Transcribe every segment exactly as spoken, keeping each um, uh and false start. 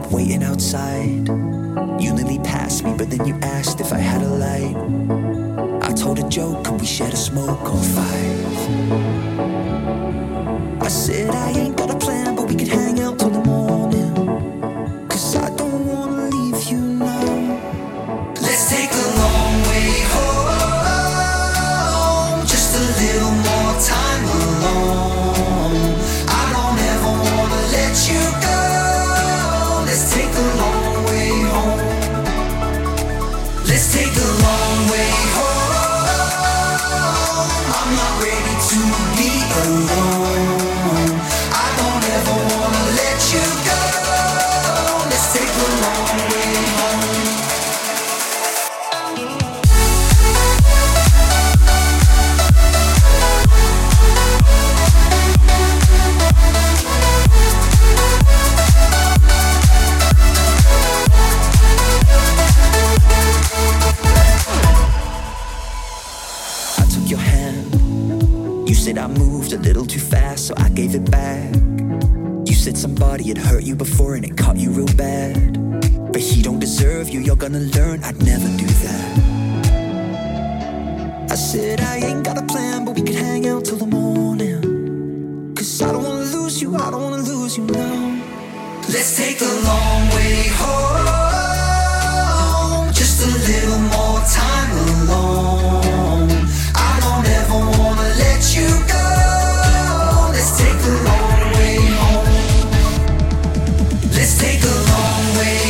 waiting outside. You nearly passed me, but then you asked if I had a light. I told a joke, could we share a smoke or five? I said I ain't got a plan, but we could hang out till the morning. Cause I don't wanna leave you now. Let's take a long way home, just a little more time alone. I don't ever wanna let you go. Let's take a long way home. Let's take a long way home. I'm not ready to be alone. I don't ever wanna let you go. Let's take a long way home. You said I moved a little too fast, so I gave it back. You said somebody had hurt you before and it caught you real bad. But he don't deserve you, you're gonna learn I'd never do that. I said I ain't got a plan, but we could hang out till the morning. Cause I don't wanna lose you, I don't wanna lose you now. Let's take a long way home, just a little more time alone. I don't ever wanna let you go. Let's take a long way home. Let's take a long way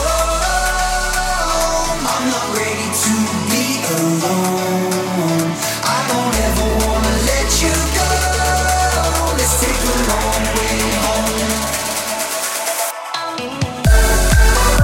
home. I'm not ready to be alone. I don't ever wanna let you go. Let's take a long way home.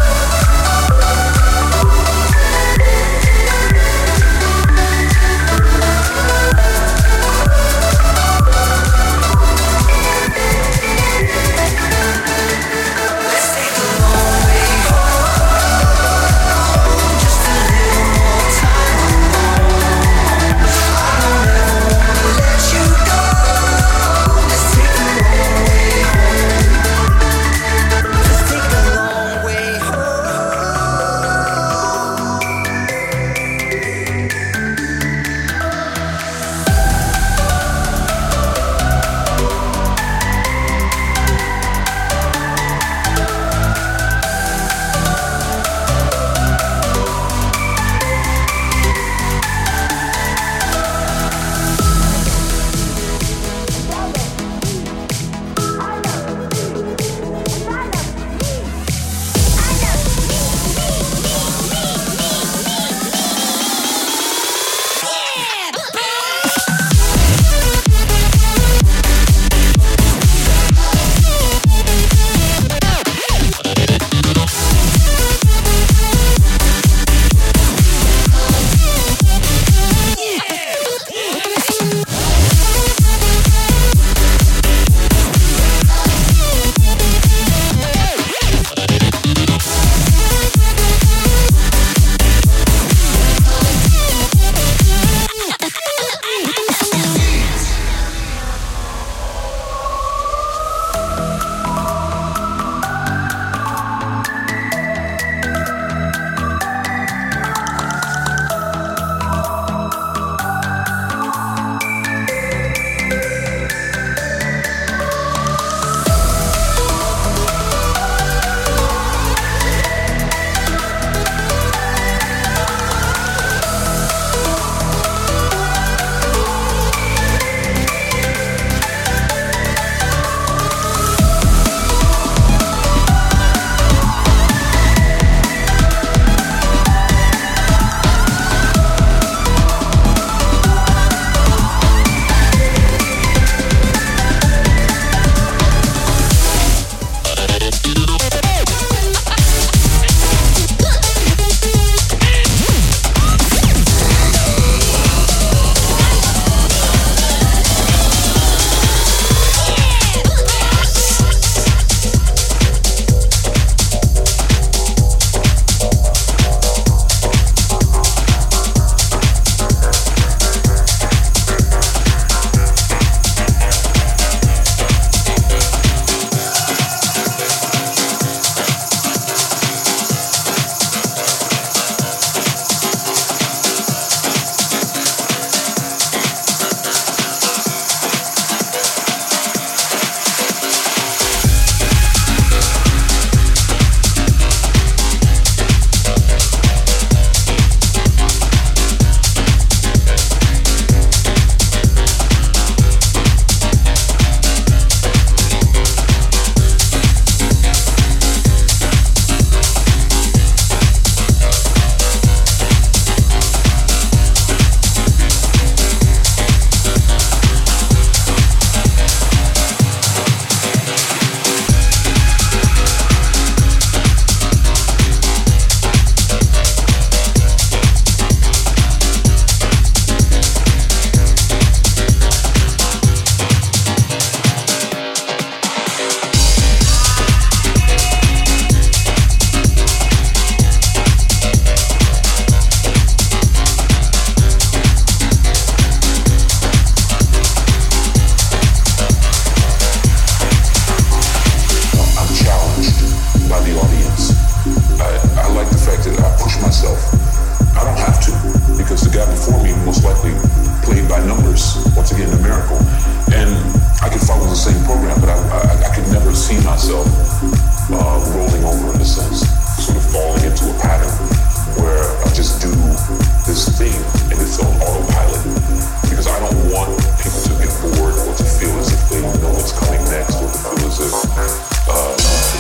is once again a miracle. And I could follow the same program, but I, I, I could never see myself uh, rolling over in a sense, sort of falling into a pattern where I just do this thing and it's on autopilot. Because I don't want people to get bored or to feel as if they know what's coming next or to feel as if uh,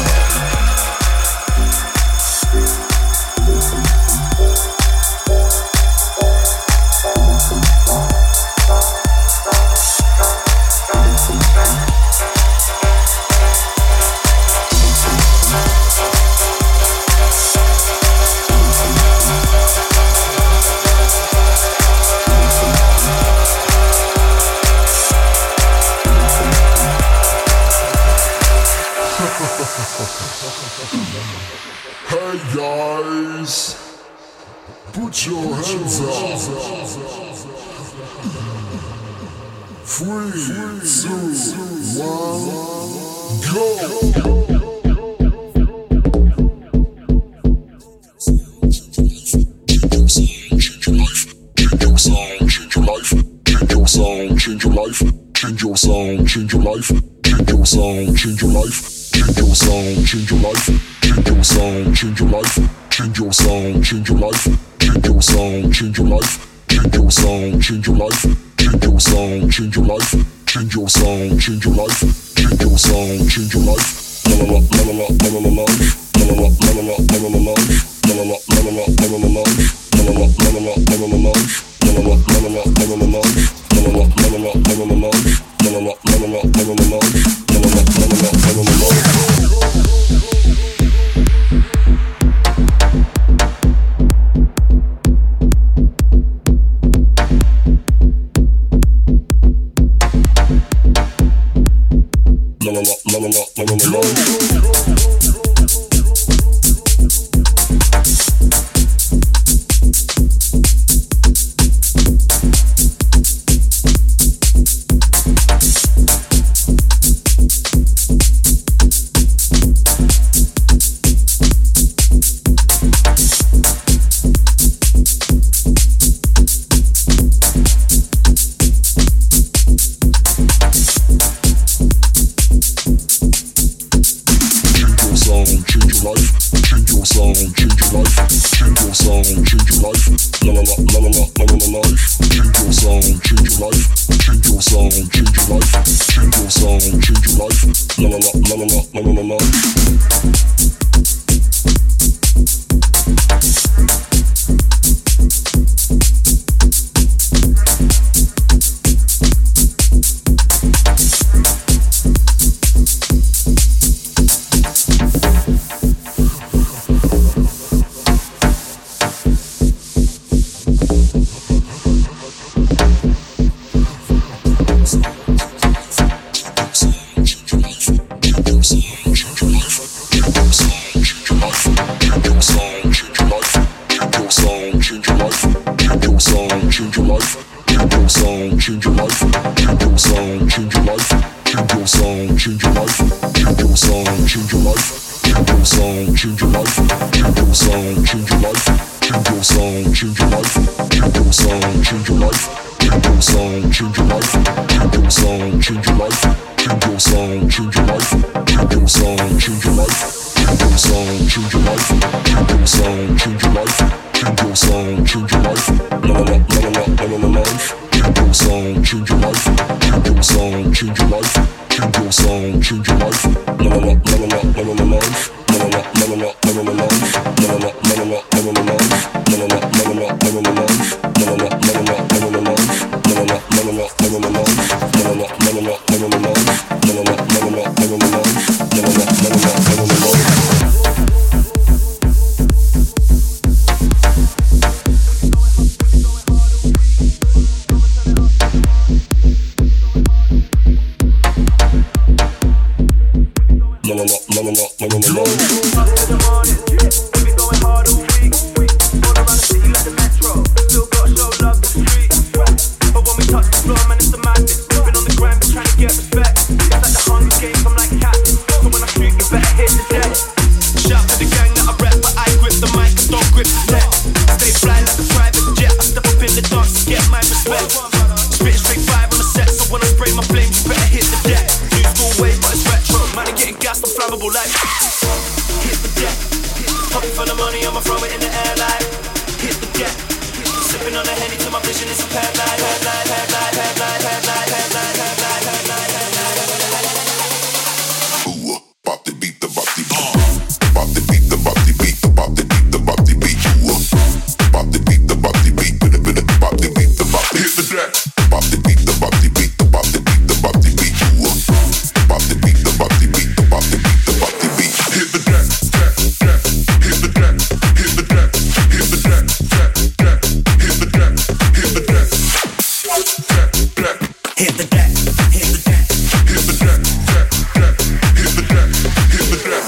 Hey guys, put your hands up. Three, two, one, go. Change your life, change your song, change your life, change your song, change your life, change your song, change your life, change your song, change your life, change your song, change your life, change your song, change your life, change your song, change your life, change your song, change your life, change your song, change your life, change your song, change your life, la la la la la la la la life, la la la la la la la la life, la la la la la la la la life, la la la la la la la la life, la la la la la la la la life. La la la la la la la la life. La la la la la la la la life. La la la la la la la la life. La la la la la la la life. Stay fly like a private jet. I step up in the dance to get my respect. Spit straight fire. Sipping on the Henny till my vision is impaired. Light, light, light, light, light, light, light, light, light, light, light, light, light, light, light, light, light. Ooh, bop the beat, the bop the beat, bop the beat, the bop the beat, the bop the beat, the bop the beat. Ooh, bop the beat, the bop the beat, bop the beat, the bop the beat, the bop the hit the deck. Bop the beat, the bop the beat, the bop the beat, the bop the beat. Ooh, bop the beat, the bop the beat, the bop the beat, the bop the beat. Hit the deck, deck, deck, hit the deck, hit the deck, hit the deck, deck, deck, hit the deck, hit the deck, deck, deck, hit the deck, hit the deck, hit the deck, deck, deck, hit the deck, hit the deck.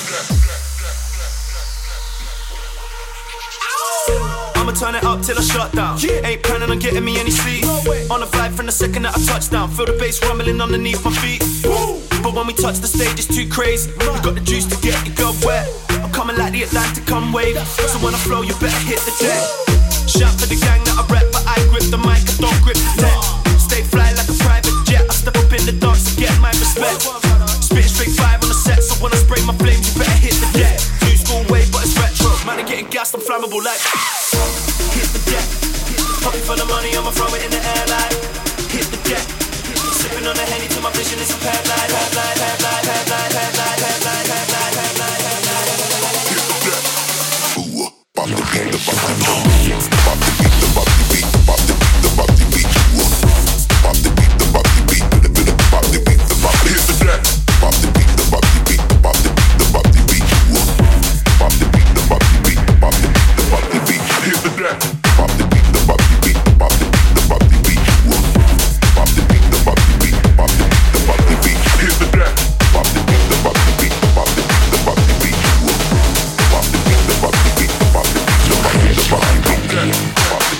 I'ma turn it up till I shut down. Yeah. Ain't planning on getting me any sleep. No on the flight from the second that I touch down. Feel the bass rumbling underneath my feet. Woo. But when we touch the stage, it's too crazy. We got the juice to get your girl wet. I'm coming like the Atlantic, come wave. So when I flow, you better hit the deck. Shout for the gang that I rep, but I grip the mic, I don't grip the tech. Stay fly like a private jet. I step up in the dance to get my respect. Spit straight five on the set, so when I spray my flames, you better hit the deck. New school wave, but it's retro. Man, I'm getting gassed, I'm flammable like. Hit the deck. Popping for the money, I'ma throw it in the air like. Hit the deck. Sipping on the Henny till my vision is impaired. Light, light, light, light, light, light, light, light, light, light, light, light, light, light, light, light. Hit the deck. Ooh, bop the beat, the bop the beat, bop the beat, the bop the beat, bop the beat, the bop the beat. Ooh, bop the beat, the bop the beat, the beat, the bop the beat, the bop. Hit the deck. Bop the beat, the bop the beat, the bop the beat, the bop the beat. Ooh, bop the beat, the bop the beat, the bop the beat, the bop the beat. Hit the deck. Bop the beat, the bop the beat, the bop the beat, the bop the beat. Ooh, bop the beat, the bop the beat, the bop the beat, the bop the beat. Hit the deck. Bop the beat, the bop the beat, the bop the beat, the bop the beat. Ooh, bop the beat, the bop the beat, the bop the beat, the bop the beat, the bop the beat. Bop the beat.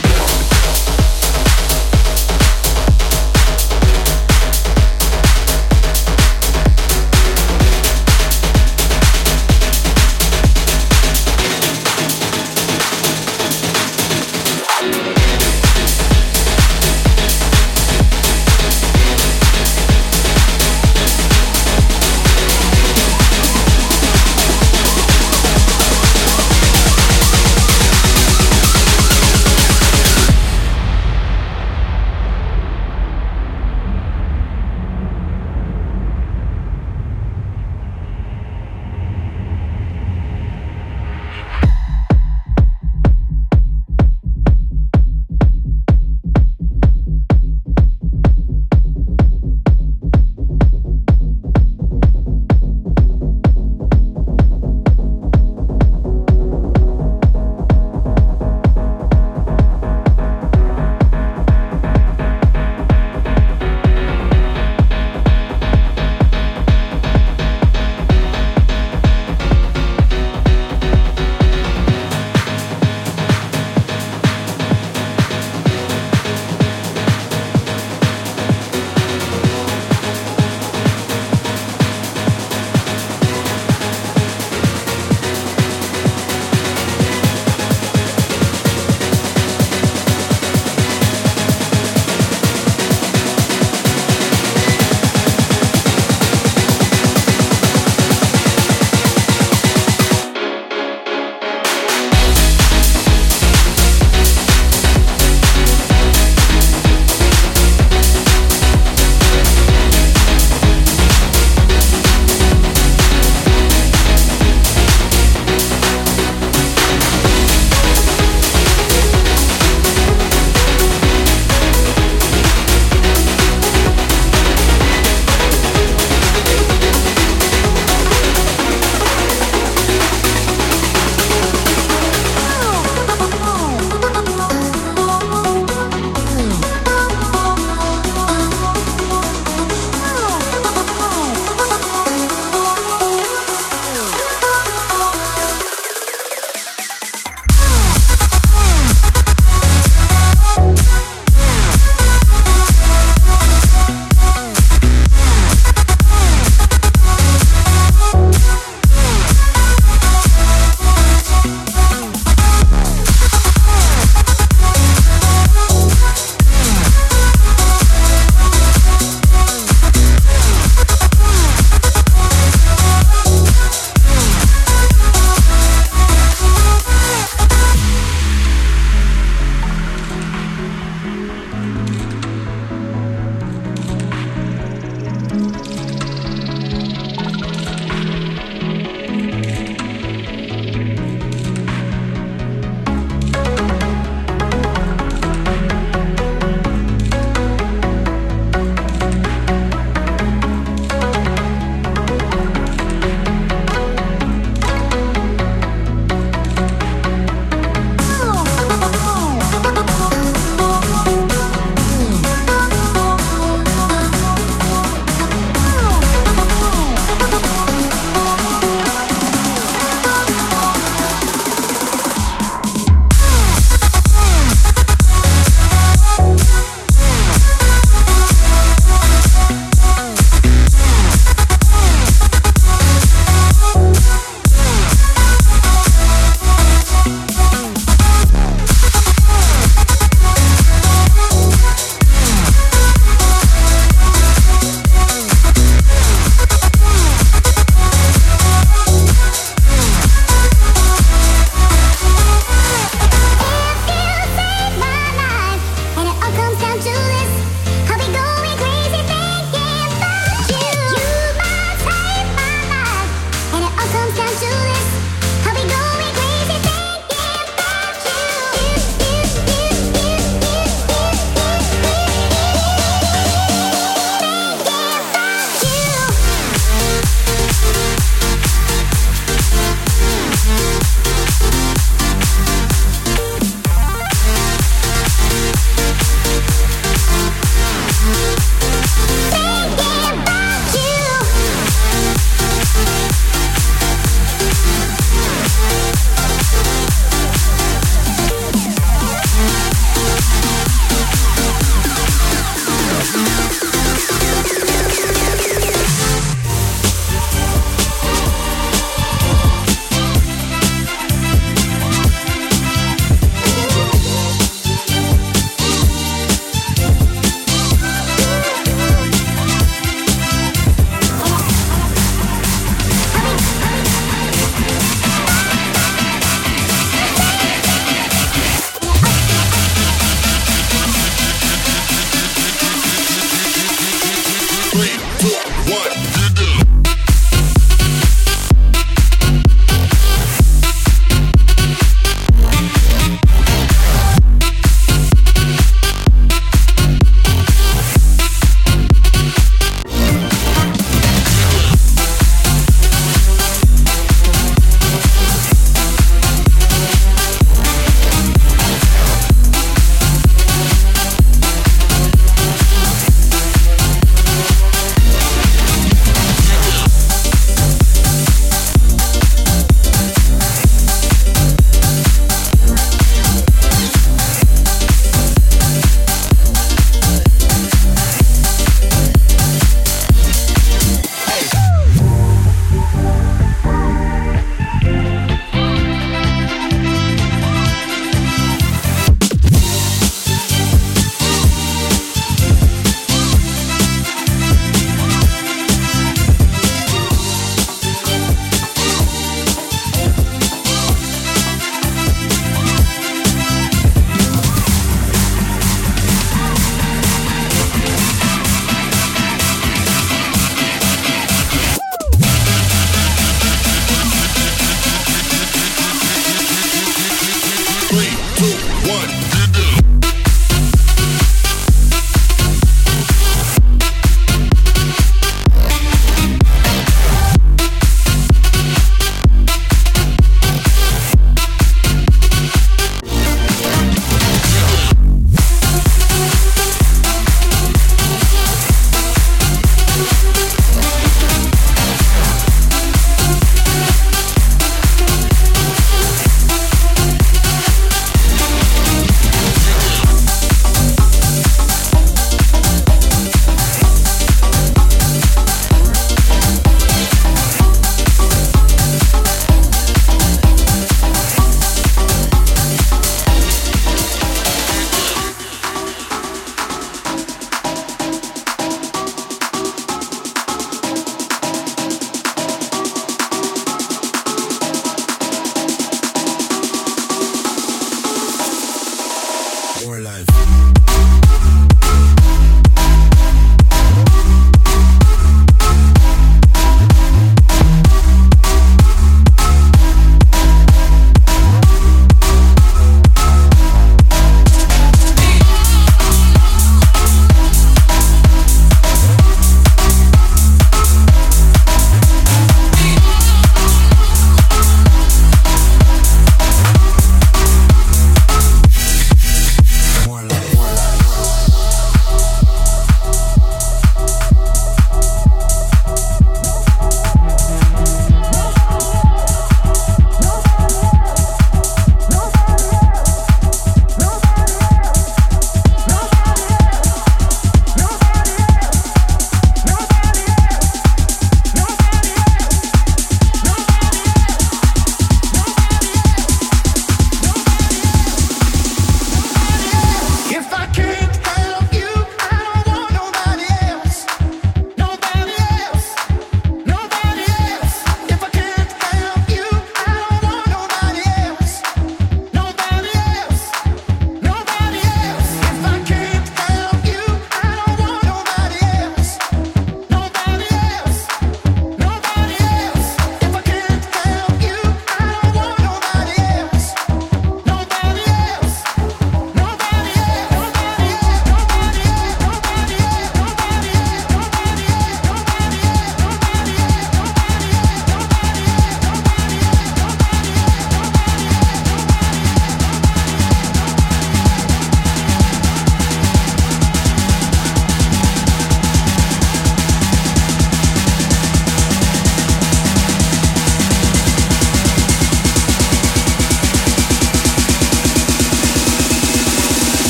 our life.